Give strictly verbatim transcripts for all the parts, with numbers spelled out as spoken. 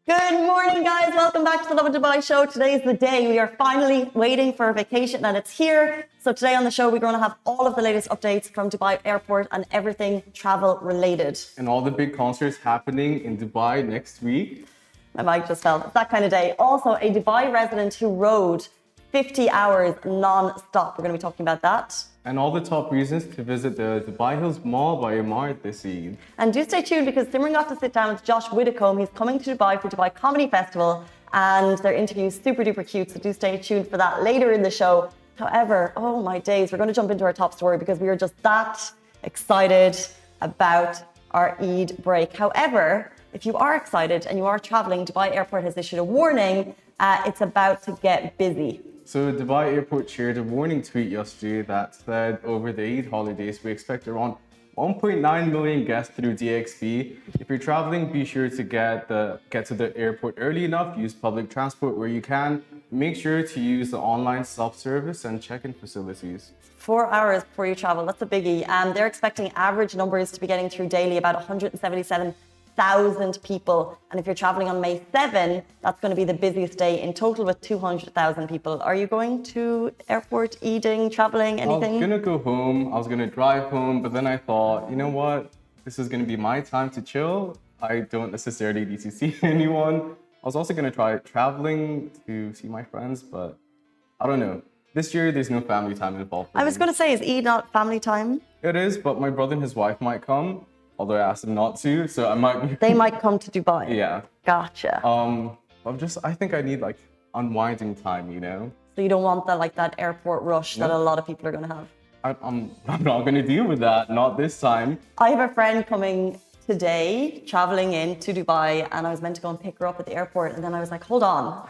Good morning, guys. Welcome back to the Lovin Dubai show. Today is the day we are finally waiting for a vacation, and it's here. So today on the show, we're going to have all of the latest updates from Dubai Airport and everything travel related. And all the big concerts happening in Dubai next week. My mic just fell. It's that kind of day. Also, a Dubai resident who rode fifty hours non-stop. We're going to be talking about that. And all the top reasons to visit the Dubai Hills Mall by Emaar this Eid. And do stay tuned because Simran got to sit down with Josh Widdicombe. He's coming to Dubai for Dubai Comedy Festival, and their interview is super duper cute. So do stay tuned for that later in the show. However, oh my days, we're going to jump into our top story because we are just that excited about our Eid break. However, if you are excited and you are traveling, Dubai Airport has issued a warning. Uh, it's about to get busy. So Dubai Airport shared a warning tweet yesterday that said over the Eid holidays, we expect around one point nine million guests through D X B. If you're traveling, be sure to get the get to the airport early enough, use public transport where you can. Make sure to use the online self-service and check-in facilities. Four hours before you travel, that's a biggie. And they're expecting average numbers to be getting through daily, about one hundred seventy-seven thousand people. And if you're traveling on May seventh, that's going to be the busiest day in total with two hundred thousand people. Are you going to airport, eating, traveling, anything? I was going to go home. I was going to drive home. But then I thought, you know what? This is going to be my time to chill. I don't necessarily need to see anyone. I was also going to try traveling to see my friends, but I don't know. This year, there's no family time involved. I was going to say, is Eid not family time? It is, but my brother and his wife might come. Although I asked them not to, so I might... They might come to Dubai. Yeah. Gotcha. Um, I'm just, I think I need like unwinding time, you know? So you don't want that like that airport rush No. that a lot of people are going to have? I, I'm, I'm not going to deal with that, not this time. I have a friend coming today, traveling into Dubai, and I was meant to go and pick her up at the airport, and then I was like, hold on.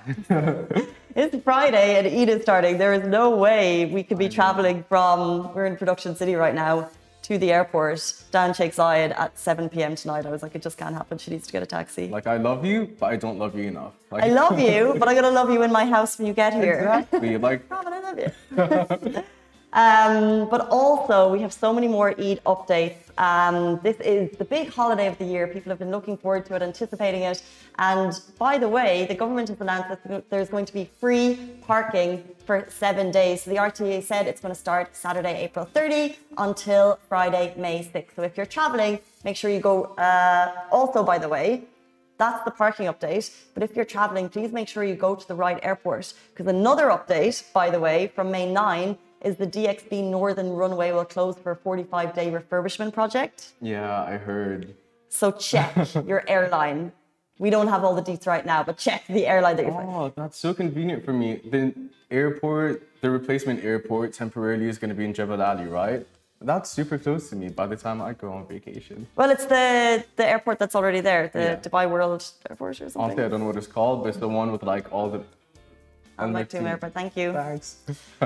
It's Friday and Eid is starting. There is no way we could be traveling from, we're in Production City right now, to the airport down Sheikh Zayed at seven p.m. tonight. I was like, it just can't happen. She needs to get a taxi. Like, I love you, but I don't love you enough. Like, I love you, but I'm going to love you in my house when you get here. Exactly. Like, Robin, I love you. um, but also, we have so many more Eid updates. Um, this is the big holiday of the year. People have been looking forward to it, anticipating it. And by the way, the government has announced that there's going to be free parking for seven days. So the R T A said it's going to start Saturday, April thirtieth until Friday, May sixth. So if you're traveling, make sure you go. Uh, also, by the way, that's the parking update. But if you're traveling, please make sure you go to the right airport. Because another update, by the way, from May ninth, is the D X B Northern Runway will close for a forty-five day refurbishment project. yeah, I heard. So check your airline. We don't have all the deets right now, but check the airline that you're flying. Oh, that's so convenient for me. The airport, the replacement airport temporarily is going to be in Jebel Ali, right? That's super close to me by the time I go on vacation. Well, it's the, the airport that's already there, the Yeah. Dubai World Airport or something. Honestly, I don't know what it's called, but it's the one with like all the... Al Maktoum Airport, thank you. Thanks.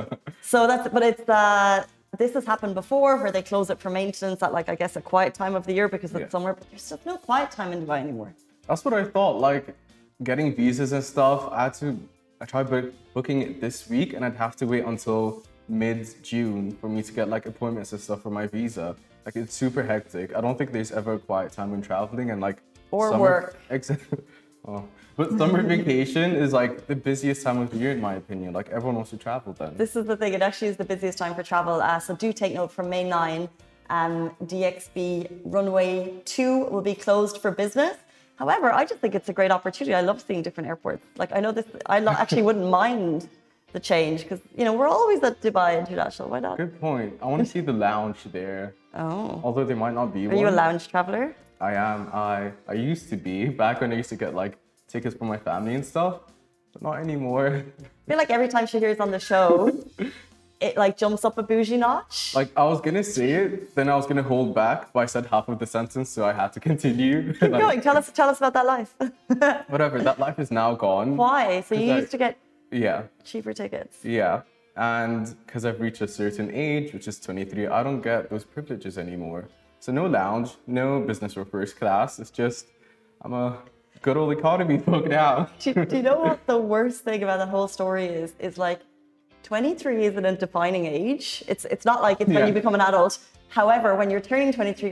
So that's, but it's, uh, this has happened before where they close it for maintenance at like, I guess, a quiet time of the year because it's Yeah. somewhere, but there's just no quiet time in Dubai anymore. That's what I thought. Like getting visas and stuff, I had to. I tried book, booking it this week, and I'd have to wait until mid-June for me to get like appointments and stuff for my visa. Like it's super hectic. I don't think there's ever a quiet time when traveling, and like Or summer, work. Exactly. Oh. But summer vacation is like the busiest time of the year, in my opinion. Like everyone wants to travel then. This is the thing, it actually is the busiest time for travel. Uh, so do take note from May ninth, um, D X B Runway two will be closed for business. However, I just think it's a great opportunity. I love seeing different airports. Like I know this, I lo- actually wouldn't mind the change because, you know, we're always at Dubai International. Why not? Good point. I want to see the lounge there. Oh. Although there might not be Are one. you a lounge traveler? I am. I I used to be back when I used to get like tickets for my family and stuff, but not anymore. I feel like every time she hears on the show, it like jumps up a bougie notch. Like I was gonna say it, then I was gonna hold back, but I said half of the sentence, so I had to continue. Keep Like, going. Tell us, tell us about that life. whatever, that life is now gone. Why? So you 'Cause I- used to get Yeah, cheaper tickets. yeah. And because I've reached a certain age, which is twenty-three, I don't get those privileges anymore. So no lounge, no business or first class. It's just, I'm a good old economy folk now. do, do you know what the worst thing about the whole story is? Is like, twenty-three isn't a defining age. It's it's not like it's when Yeah. you become an adult. However, when you're turning twenty-three, you're like, oh, I'm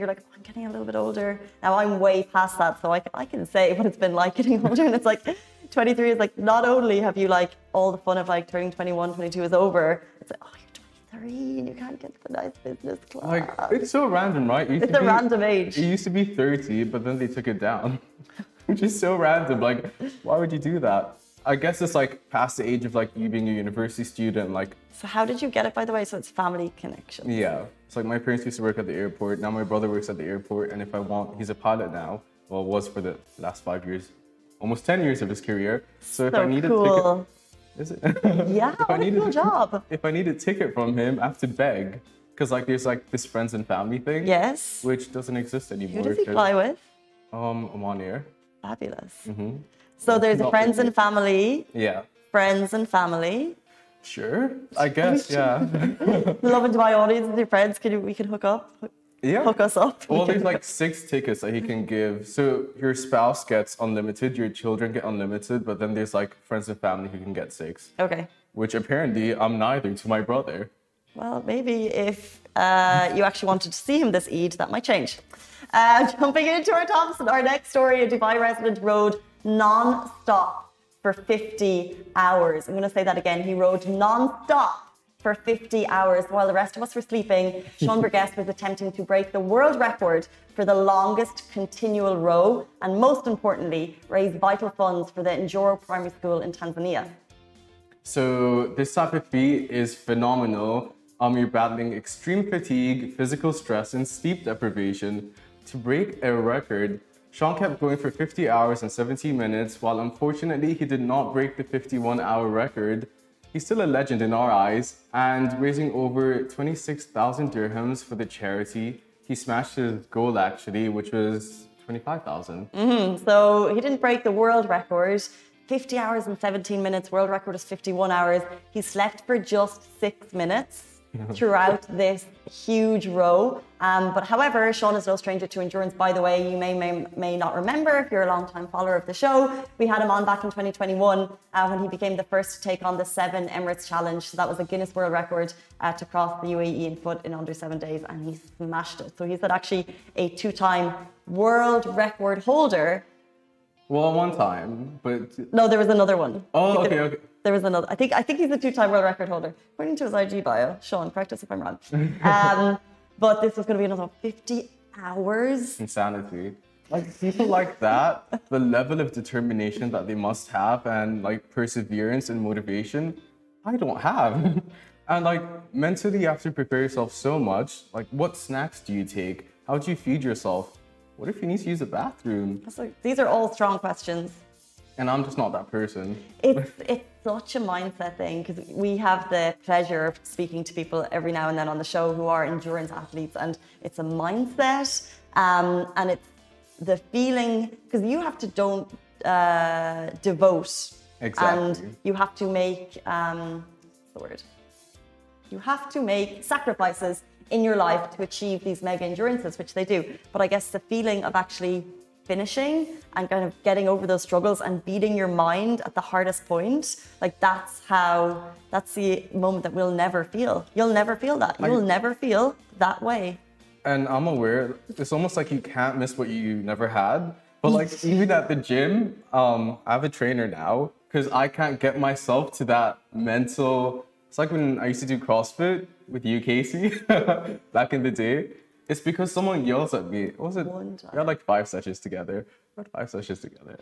getting a little bit older. Now I'm way past that, so I, I can say what it's been like getting older. And it's like twenty-three is like, not only have you like all the fun of like turning twenty-one, twenty-two is over, it's like, oh, you're twenty-three and you can't get to the nice business class. Like, it's so random, right? It it's a be, random age. It used to be thirty, but then they took it down, which is so random. Like, why would you do that? I guess it's like past the age of like you being a university student, like. So how did you get it, by the way? So it's family connection. Yeah. It's like my parents used to work at the airport. Now my brother works at the airport. And if I want, he's a pilot now. Well, was for the last five years, almost ten years of his career. So if so I need cool. a ticket, is it? Yeah, if what I a need cool a, job. If I need a ticket from him, I have to beg. Because like there's like this friends and family thing. Yes. Which doesn't exist anymore. Who does he fly with? Um, Oman Air. Fabulous. Mm-hmm. So there's Not a friends really. and family. Yeah. Friends and family. Sure, I guess, yeah. Love into my audience and your friends. Can you, we can hook up? Yeah. Hook us up. Well, We there's can- like six tickets that he can give. So your spouse gets unlimited, your children get unlimited, but then there's like friends and family who can get six. Okay. Which apparently I'm neither to my brother. Well, maybe if uh, you actually wanted to see him this Eid, that might change. Uh, jumping into our tops, our next story, a Dubai resident rode non-stop for fifty hours. I'm going to say that again. He rode non-stop for fifty hours while the rest of us were sleeping. Sean Burgess was attempting to break the world record for the longest continual row and, most importantly, raise vital funds for the Njoro Primary School in Tanzania. So this type of feat is phenomenal. Um, you're battling extreme fatigue, physical stress, and sleep deprivation to break a record. Sean kept going for fifty hours and seventeen minutes, while unfortunately he did not break the fifty-one hour record. He's still a legend in our eyes, and raising over twenty-six thousand dirhams for the charity. He smashed his goal actually, which was twenty-five thousand. Mm-hmm. So he didn't break the world record. fifty hours and seventeen minutes, world record is fifty-one hours. He slept for just six minutes throughout this huge row. Um, but however, Sean is no stranger to endurance. By the way, you may, may may not remember if you're a long-time follower of the show. We had him on back in twenty twenty-one uh, when he became the first to take on the seven Emirates Challenge. So that was a Guinness World Record uh, to cross the U A E in foot in under seven days, and he smashed it. So he's actually a two-time world record holder. Well, one time, but No, there was another one. oh, He okay, could- okay. There was another. I think I think he's a two-time world record holder, according to his I G bio. Sean, correct us if I'm wrong. Um, but this was going to be another fifty hours. Insanity. Like people like that, the level of determination that they must have and like perseverance and motivation, I don't have. And like mentally you have to prepare yourself so much. Like what snacks do you take? How do you feed yourself? What if you need to use the bathroom? That's like- these are all strong questions. And I'm just not that person. It's it's such a mindset thing because we have the pleasure of speaking to people every now and then on the show who are endurance athletes, and it's a mindset, um, and it's the feeling because you have to don't uh, devote, Exactly. and you have to make um, what's the word? You have to make sacrifices in your life to achieve these mega endurances, which they do. But I guess the feeling of actually finishing and kind of getting over those struggles and beating your mind at the hardest point, like that's how, that's the moment that we'll never feel. You'll never feel that. You'll never feel that way. And I'm aware, it's almost like you can't miss what you never had. But like even at the gym, um, I have a trainer now because I can't get myself to that mental. It's like when I used to do CrossFit with you, Casey, back in the day. It's because someone yells at me. What was it? One time. We had like five sessions together. We had five sessions together.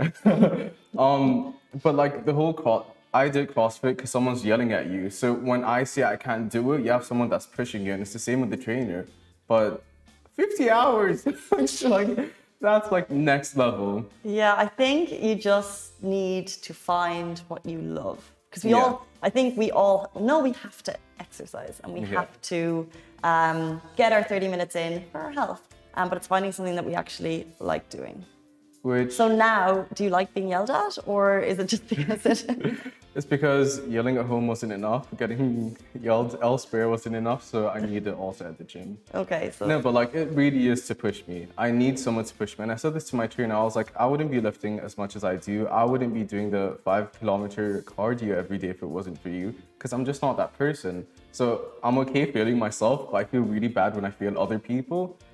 um, but like the whole cro- I did CrossFit because someone's yelling at you. So when I say I can't do it, you have someone that's pushing you, and it's the same with the trainer. But fifty hours, it's like that's like next level. Yeah, I think you just need to find what you love. Because we Yeah. all, I think we all know we have to exercise and we Yeah. have to um, get our thirty minutes in for our health. Um, but it's finding something that we actually like doing. Which So now, do you like being yelled at, or is it just because it? it's because yelling at home wasn't enough. Getting yelled elsewhere wasn't enough. So I need it also at the gym. Okay, so No, but like it really is to push me. I need someone to push me. And I said this to my trainer. I was like, I wouldn't be lifting as much as I do. I wouldn't be doing the five kilometer cardio every day if it wasn't for you. Because I'm just not that person. So I'm okay failing myself, but I feel really bad when I fail other people.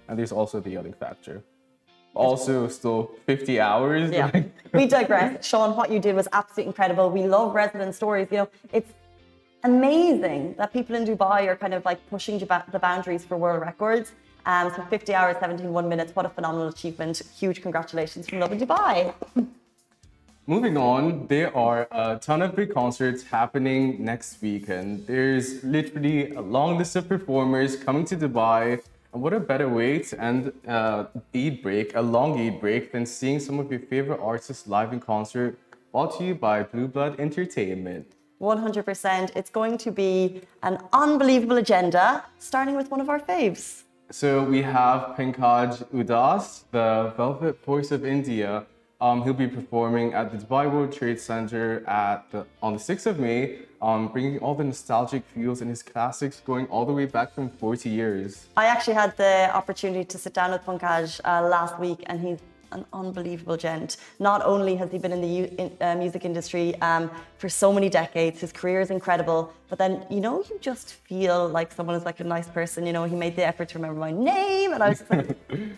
and there's also the yelling factor. Also, still fifty hours. Yeah, Like... we digress. Sean, what you did was absolutely incredible. We love resident stories. You know, it's amazing that people in Dubai are kind of like pushing the boundaries for world records. Um, so fifty hours, seventeen, one minutes. What a phenomenal achievement. Huge congratulations from Lovin Dubai. Moving on, there are a ton of big concerts happening next weekend. There's literally a long list of performers coming to Dubai. And what a better way to end uh, Eid break, a long Eid break, than seeing some of your favorite artists live in concert, brought to you by Blue Blood Entertainment. one hundred percent. It's going to be an unbelievable agenda, starting with one of our faves. So we have Pankaj Udas, the Velvet Voice of India. Um, he'll be performing at the Dubai World Trade Center at the, on the sixth of May, um, bringing all the nostalgic feels and his classics going all the way back from forty years. I actually had the opportunity to sit down with Pankaj uh, last week, and he's an unbelievable gent. Not only has he been in the in, uh, music industry um, for so many decades, his career is incredible, but then, you know, you just feel like someone is like a nice person. You know, he made the effort to remember my name, and I was just like...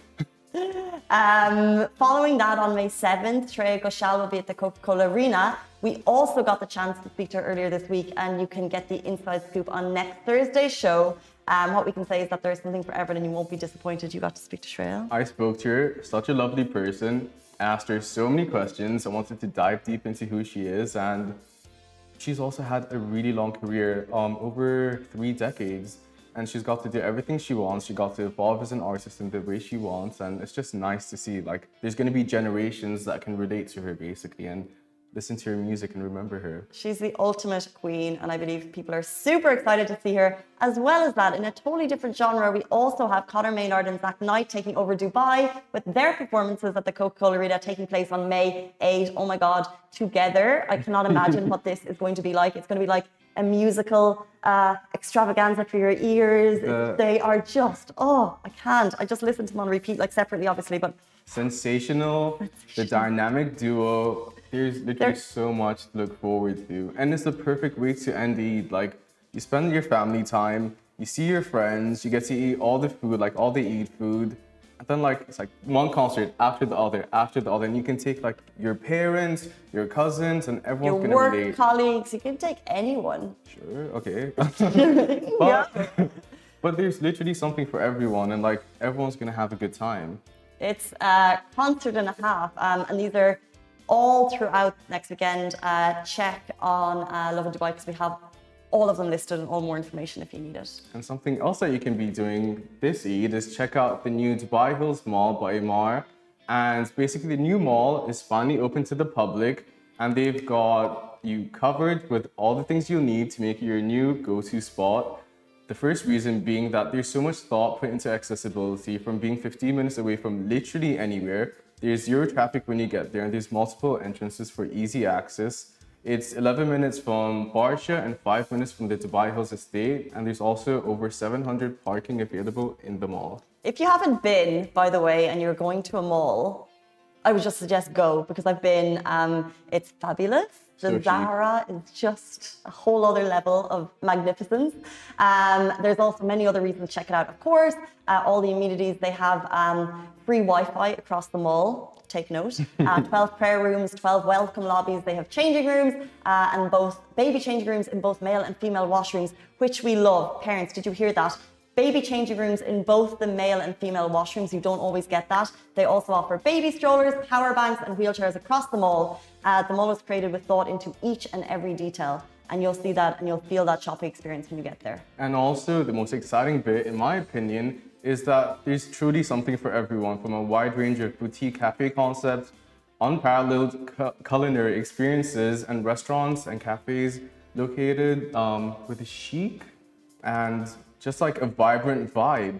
Um, following that, on May seventh, Shreya Ghoshal will be at the Coca-Cola Arena. We also got the chance to speak to her earlier this week, and you can get the inside scoop on next Thursday's show. Um, what we can say is that there's something for everyone, and you won't be disappointed. You got to speak to Shreya. I spoke to her, such a lovely person, asked her so many questions. I wanted to dive deep into who she is, and she's also had a really long career, um, over three decades. And she's got to do everything she wants. She got to evolve as an artist in the way she wants. And it's just nice to see, like, there's going to be generations that can relate to her, basically, and listen to her music and remember her. She's the ultimate queen, and I believe people are super excited to see her. As well as that, in a totally different genre, we also have Conor Maynard and Zach Knight taking over Dubai with their performances at the Coca-Cola Arena taking place on May eighth. Oh my God, together. I cannot imagine what this is going to be like. It's going to be like a musical uh, extravaganza for your ears. Uh, they are just, oh, I can't. I just listen to them on repeat, like separately, obviously, but... Sensational, the dynamic duo. There's literally They're... so much to look forward to. And it's the perfect way to end Eid. Like, you spend your family time, you see your friends, you get to eat all the food, like all the Eid food. And then like, it's like one concert after the other, after the other. And you can take like your parents, your cousins, and everyone's your gonna work relate. colleagues, you can take anyone. Sure, okay. but, yeah. But there's literally something for everyone, and like everyone's gonna have a good time. It's a concert and a half, um, and these are all throughout next weekend. Uh, check on uh, Lovin Dubai, because we have all of them listed and all more information if you need it. And something else that you can be doing this Eid is check out the new Dubai Hills Mall by Emaar. And basically the new mall is finally open to the public, and they've got you covered with all the things you'll need to make it your new go-to spot. The first reason being that there's so much thought put into accessibility, from being fifteen minutes away from literally anywhere. There's zero traffic when you get there, and there's multiple entrances for easy access. It's eleven minutes from Barsha and five minutes from the Dubai Hills estate, and there's also over seven hundred parking available in the mall. If you haven't been, by the way, and you're going to a mall, I would just suggest go, because I've been. Um, it's fabulous. The So Zara is just a whole other level of magnificence. Um, there's also many other reasons to check it out, of course. Uh, all the amenities, they have um, free Wi-Fi across the mall. Take note. Uh, twelve prayer rooms, twelve welcome lobbies. They have changing rooms uh, and both baby changing rooms in both male and female washrooms, which we love. Parents, did you hear that? Baby changing rooms in both the male and female washrooms. You don't always get that. They also offer baby strollers, power banks, and wheelchairs across the mall. Uh, the mall was created with thought into each and every detail. And you'll see that and you'll feel that shopping experience when you get there. And also the most exciting bit, in my opinion, is that there's truly something for everyone, from a wide range of boutique cafe concepts, unparalleled cu- culinary experiences, and restaurants and cafes located um, with a chic and just like a vibrant vibe.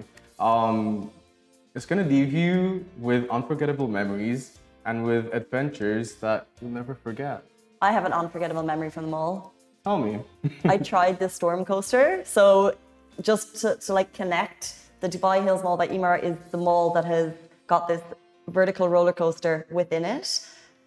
Um, it's gonna leave you with unforgettable memories and with adventures that you'll never forget. I have an unforgettable memory from the mall. Tell me. I tried the storm coaster. So just to, to like connect, the Dubai Hills Mall by Emaar is the mall that has got this vertical roller coaster within it.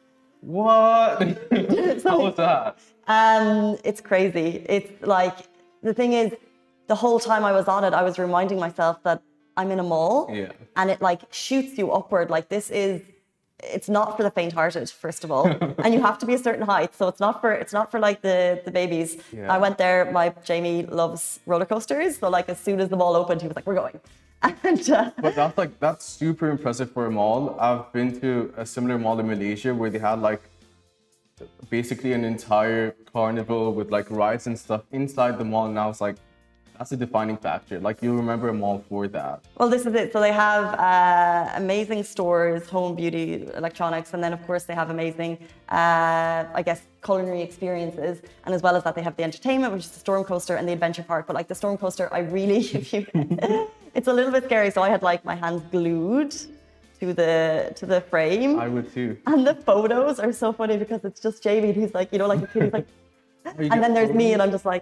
What? How was that? Um, it's crazy. It's like, the thing is, the whole time I was on it, I was reminding myself that I'm in a mall, Yeah. and it like shoots you upward. Like this is, it's not for the faint-hearted, first of all, and you have to be a certain height. So it's not for it's not for like the the babies. Yeah. I went there. My Jamie loves roller coasters, so like as soon as the mall opened, he was like, "We're going." And, uh, But that's like that's super impressive for a mall. I've been to a similar mall in Malaysia where they had like basically an entire carnival with like rides and stuff inside the mall, and I was like, that's a defining factor. Like you'll remember a mall for that. Well, this is it. So they have uh, amazing stores, home, beauty, electronics, and then of course they have amazing, uh, I guess, culinary experiences. And as well as that, they have the entertainment, which is the storm coaster and the adventure park. But like the storm coaster, I really, if you, it's a little bit scary. So I had like my hands glued to the to the frame. I would too. And the photos are so funny because it's just Jamie, who's like, you know, like a kid, he's like, and then there's me, and I'm just like.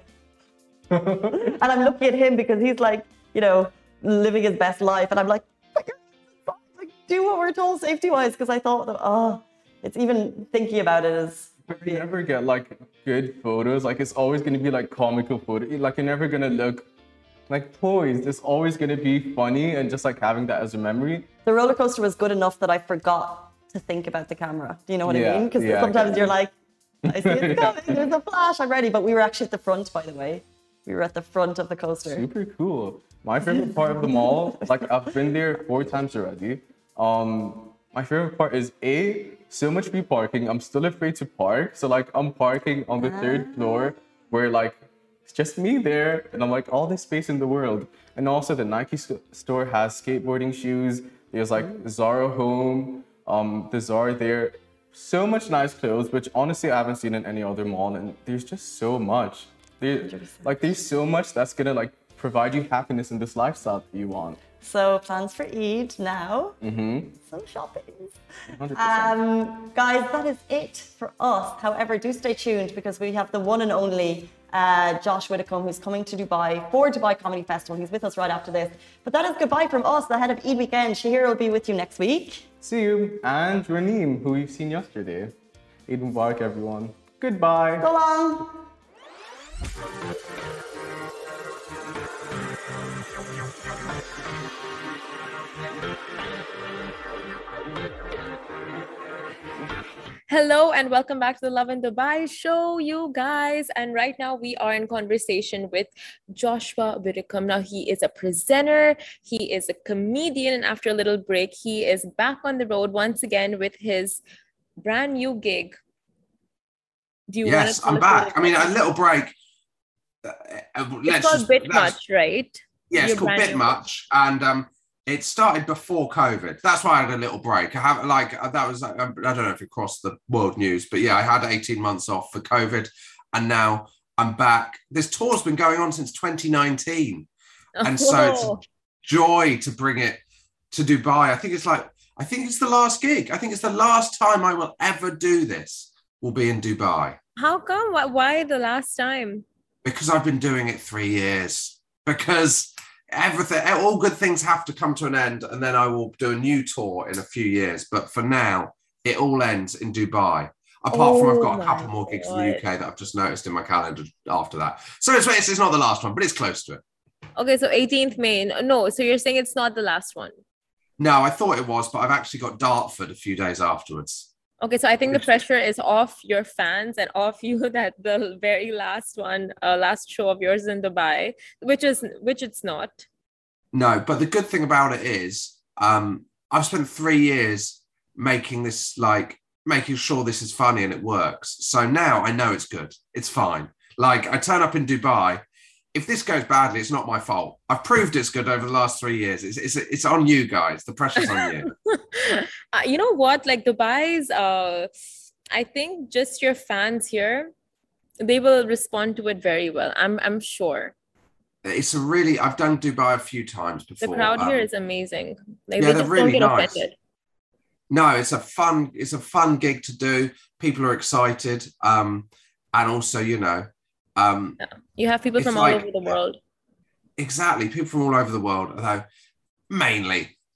And I'm looking at him because he's like, you know, living his best life. And I'm like, like do what we're told safety wise. Because I thought, that, oh, it's even thinking about it is. You never get like good photos. Like it's always going to be like comical photo. Like you're never going to look like poised. It's always going to be funny and just like having that as a memory. The roller coaster was good enough that I forgot to think about the camera. Do you know what Yeah, I mean? Because yeah, sometimes you're like, I see it's coming. There's a flash. I'm ready. But we were actually at the front, by the way. We were at the front of the coaster. Super cool. My favorite part of the mall, like I've been there four times already. Um, my favorite part is A, so much free parking. I'm still afraid to park. So like I'm parking on the third floor where like it's just me there and I'm like all this space in the world. And also the Nike st- store has skateboarding shoes. There's like Zara Home, um, the Zara there. So much nice clothes, which honestly I haven't seen in any other mall. And there's just so much. There, like there's so much that's gonna like provide you happiness in this lifestyle that you want. So plans for Eid now. Mm-hmm. Some shopping. one hundred percent. Um, guys, that is it for us. However, do stay tuned because we have the one and only uh, Josh Widdicombe who's coming to Dubai for Dubai Comedy Festival. He's with us right after this. But that is goodbye from us ahead of Eid weekend. Shahir will be with you next week. See you. And Raneem, who we've seen yesterday. Eid Mubarak, everyone. Goodbye. So long. Hello and welcome back to the Love in Dubai show, you guys. And right now we are in conversation with Joshua Widdicombe. Now he is a presenter, he is a comedian, and after a little break, he is back on the road once again with his brand new gig. Do you yes, want to I'm back. I mean, a little break. Uh, it's let's called just, Bit let's, Much, right? Yeah, it's Your called brand Bit new Much, and um, it started before COVID. That's why I had a little break. I have like that was I don't know if it crossed the world news, but yeah, I had eighteen months off for COVID, and now I'm back. This tour's been going on since twenty nineteen, and so it's a joy to bring it to Dubai. I think it's like I think it's the last gig. I think it's the last time I will ever do this. Will be in Dubai. How come? Why, why the last time? Because I've been doing it three years. Because everything, all good things have to come to an end, and then I will do a new tour in a few years. But for now, it all ends in Dubai. Apart oh from I've got a couple more gigs God. in the U K that I've just noticed in my calendar after that. So it's, it's not the last one, but it's close to it. Okay, so eighteenth May. No, so you're saying it's not the last one? No, I thought it was, but I've actually got Dartford a few days afterwards. Okay, so I think the pressure is off your fans and off you that the very last one, uh, last show of yours in Dubai, which is which it's not. No, but the good thing about it is, um, I've spent three years making this, like, making sure this is funny and it works. So now I know it's good. It's fine. Like, I turn up in Dubai. If this goes badly, it's not my fault. I've proved it's good over the last three years. It's it's, it's on you guys. The pressure's on you. uh, you know what? Like Dubai's, uh, I think just your fans here, they will respond to it very well. I'm I'm sure. It's a really. I've done Dubai a few times before. The crowd um, here is amazing. Like, yeah, they they're just really don't get nice. offended. No, it's a fun. It's a fun gig to do. People are excited, um, and also, you know. Um, yeah. You have people from like, all over the world. Exactly. People from all over the world, although mainly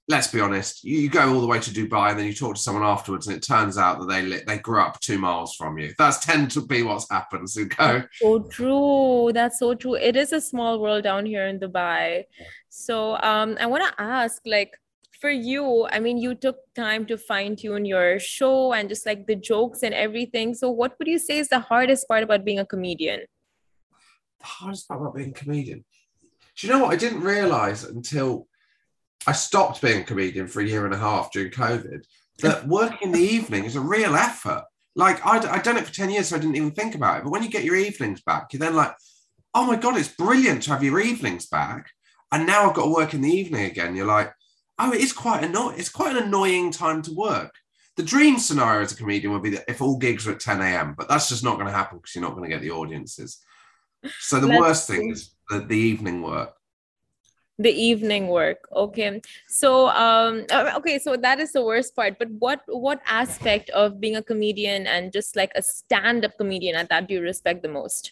let's be honest, you, you go all the way to Dubai and then you talk to someone afterwards and it turns out that they li- they grew up two miles from you. That's tend to be what's happened. So go. So true. That's so true. It is a small world down here in Dubai. So um, I want to ask, like, for you, I mean, you took time to fine tune your show and just like the jokes and everything. So what would you say is the hardest part about being a comedian? The hardest part about being a comedian. Do you know what? I didn't realize until I stopped being a comedian for a year and a half during COVID that working in the evening is a real effort. Like I'd, I'd done it for ten years, so I didn't even think about it. But when you get your evenings back, you're then like, oh my God, it's brilliant to have your evenings back. And now I've got to work in the evening again. You're like, oh, it is quite annoying. It's quite an annoying time to work. The dream scenario as a comedian would be that if all gigs were at ten a.m., but that's just not going to happen because you're not going to get the audiences. So the That's worst thing true. is the, the evening work. The evening work. Okay. So um uh, okay, so that is the worst part. But what what aspect of being a comedian and just like a stand-up comedian at that do you respect the most?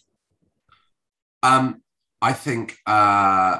Um, I think uh,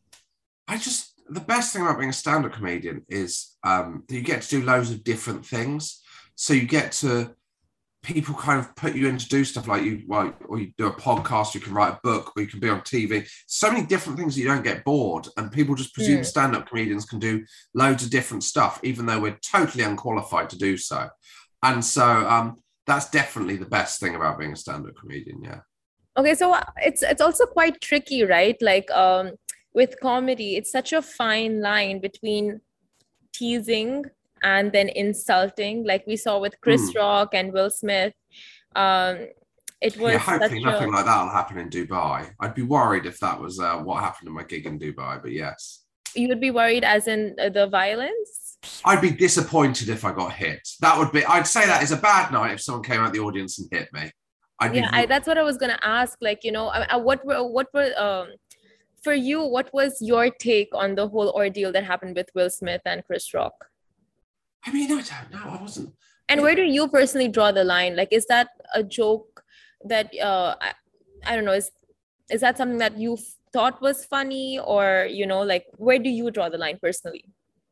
I just the best thing about being a stand-up comedian is um, that you get to do loads of different things. So you get to people kind of put you in to do stuff like you, well, or you do a podcast, you can write a book, or you can be on T V. So many different things that you don't get bored. And people just presume Mm. stand-up comedians can do loads of different stuff, even though we're totally unqualified to do so. And so um, that's definitely the best thing about being a stand-up comedian. Yeah. Okay, so uh, it's it's also quite tricky, right? Like um with comedy, it's such a fine line between teasing and then insulting, like we saw with Chris Mm. Rock and Will Smith. Um, it was Yeah, hopefully such nothing a, like that will happen in Dubai. I'd be worried if that was uh, what happened in my gig in Dubai, but yes. you would be worried as in uh, the violence. I'd be disappointed if I got hit. That would be, I'd say that is a bad night if someone came out the audience and hit me. I'd Yeah, be, I, that's what I was gonna ask. Like, you know, I, I, what were what were um for you? What was your take on the whole ordeal that happened with Will Smith and Chris Rock? I mean, I don't know. I wasn't. And where do you personally draw the line? Like, is that a joke that uh I, I don't know, is is that something that you thought was funny, or you know, like where do you draw the line personally?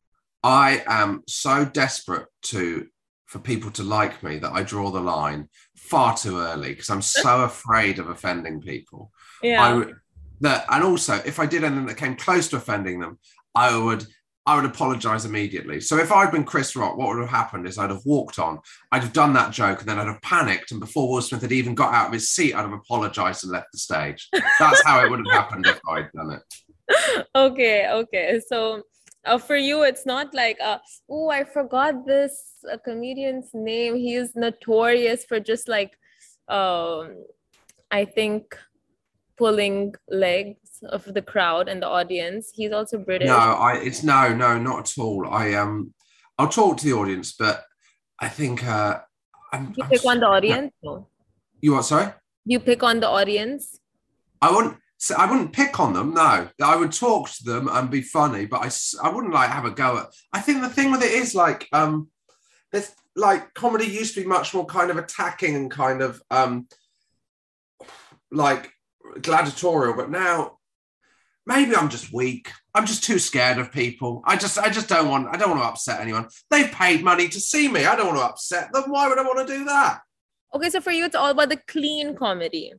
I am so desperate to for people to like me that I draw the line far too early because I'm so afraid of offending people. Yeah. I would that, and also if I did anything that came close to offending them, I would I would apologize immediately. So if I'd been Chris Rock, what would have happened is I'd have walked on, I'd have done that joke, and then I'd have panicked. And before Will Smith had even got out of his seat, I'd have apologized and left the stage. That's how it would have happened if I'd done it. Okay, okay. So uh, for you, it's not like, uh, oh, I forgot this uh, comedian's name. He is notorious for just like, um, I think, pulling legs of the crowd and the audience. He's also British. No, I it's no, no, not at all. I um I'll talk to the audience, but I think uh I'm, You I'm pick on the no. audience? No. You what, sorry? You pick on the audience? I wouldn't so I wouldn't pick on them, no. I would talk to them and be funny, but I, s- I wouldn't like have a go at. I think the thing with it is like um there's like comedy used to be much more kind of attacking and kind of um like gladiatorial, but now maybe I'm just weak. I'm just too scared of people. I just I just don't want I don't want to upset anyone. They've paid money to see me. I don't want to upset them. Why would I want to do that? Okay, so for you, it's all about the clean comedy.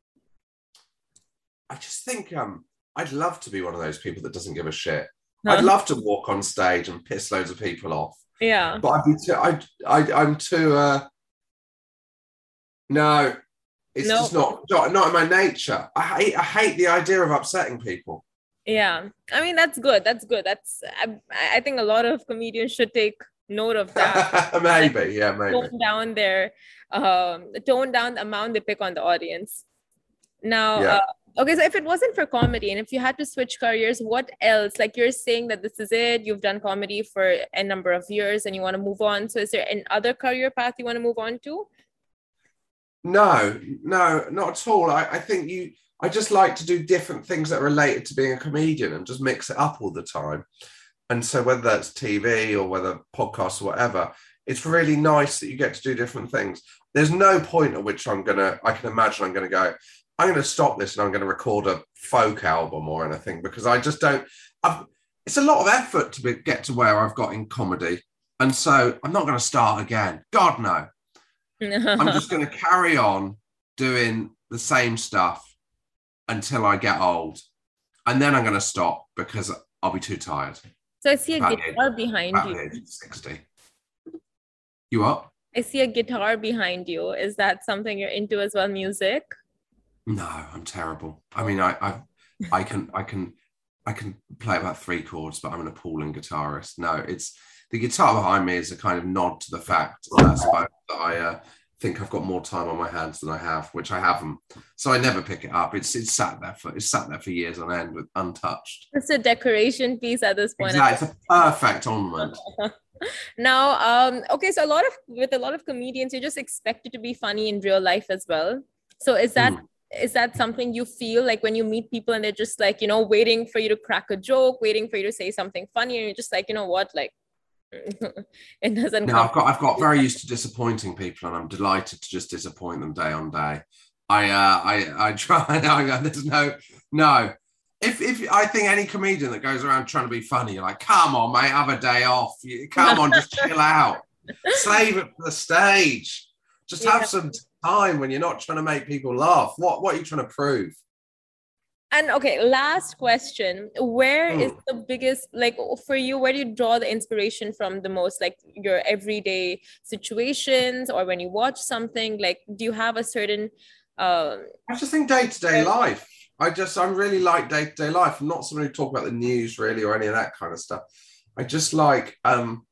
I just think um I'd love to be one of those people that doesn't give a shit. Huh? I'd love to walk on stage and piss loads of people off. Yeah. But I'd be too I I I'm too uh no. It's No. just not, not not in my nature. I hate I hate the idea of upsetting people. Yeah. I mean, that's good. That's good. That's, I, I think a lot of comedians should take note of that. Maybe, yeah, maybe. Tone down their, um, tone down the amount they pick on the audience. Now, Yeah. uh, okay, so if it wasn't for comedy and if you had to switch careers, what else? Like you're saying that this is it, you've done comedy for a number of years and you want to move on. So is there an other career path you want to move on to? No, no, not at all. I, I think you, I just like to do different things that are related to being a comedian and just mix it up all the time. And so whether that's T V or whether podcasts or whatever, it's really nice that you get to do different things. There's no point at which I'm going to, I can imagine I'm going to go, I'm going to stop this and I'm going to record a folk album or anything because I just don't, I've, it's a lot of effort to be, get to where I've got in comedy. And so I'm not going to start again. God, no. I'm just going to carry on doing the same stuff until I get old. And then I'm going to stop because I'll be too tired. So I see a guitar age, behind you. Age sixty. You what? I see a guitar behind you. Is that something you're into as well, music? No, I'm terrible. I mean, I I, I can I can I can play about three chords, but I'm an appalling guitarist. No, it's the guitar behind me is a kind of nod to the fact that I suppose that I uh, think I've got more time on my hands than I have, which I haven't. So I never pick it up. It's it's sat there for it's sat there for years on end with untouched. It's a decoration piece at this point. Exactly. It's a perfect ornament. Now, um, okay, so a lot of with a lot of comedians, you're just expected to be funny in real life as well. So is that mm. is that something you feel like when you meet people and they're just like, you know, waiting for you to crack a joke, waiting for you to say something funny, and you're just like, you know what, like it doesn't no, come. I've got I've got very used to disappointing people, and I'm delighted to just disappoint them day on day. I uh I I try I, there's no no if if I think any comedian that goes around trying to be funny, you're like, come on, mate, have a day off. You, come on, just chill out. Save it for the stage. Just yeah. have some time when you're not trying to make people laugh. What what are you trying to prove? And okay, last question. Where mm. is the biggest, like for you, where do you draw the inspiration from the most? Like your everyday situations or when you watch something, like do you have a certain... Um, I just think day-to-day life. I just, I really like day-to-day life. I'm not someone who talk about the news really or any of that kind of stuff. I just like um,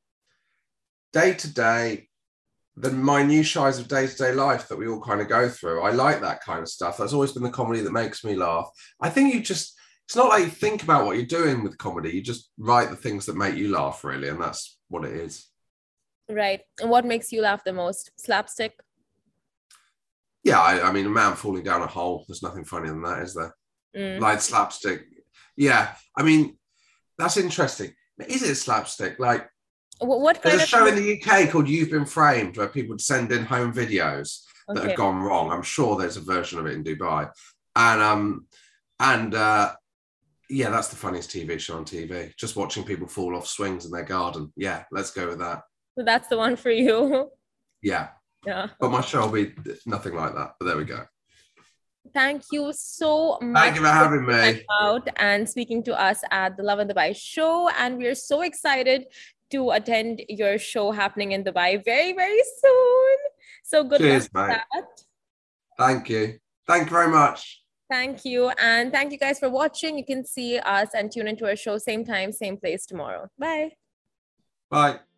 day-to-day, the minutiae of day-to-day life that we all kind of go through. I like that kind of stuff. That's always been the comedy that makes me laugh. I think you just, it's not like you think about what you're doing with comedy. You just write the things that make you laugh, really. And that's what it is. Right. And what makes you laugh the most? Slapstick? Yeah, I, I mean, a man falling down a hole. There's nothing funnier than that, is there? Mm. Like slapstick. Yeah. I mean, that's interesting. Is it slapstick? Like, What, what kind There's a of show in the U K called You've Been Framed where people would send in home videos that Okay. have gone wrong. I'm sure there's a version of it in Dubai. And um and uh yeah, that's the funniest T V show on T V. Just watching people fall off swings in their garden. Yeah, let's go with that. So that's the one for you. Yeah. Yeah. But my show will be nothing like that. But there we go. Thank you so much. Thank you for having me. coming out and speaking to us at the Lovin Dubai show. And we're so excited to attend your show happening in Dubai very, very soon. So good Cheers, luck with mate. that. Thank you. Thank you very much. Thank you. And thank you guys for watching. You can see us and tune into our show same time, same place tomorrow. Bye. Bye.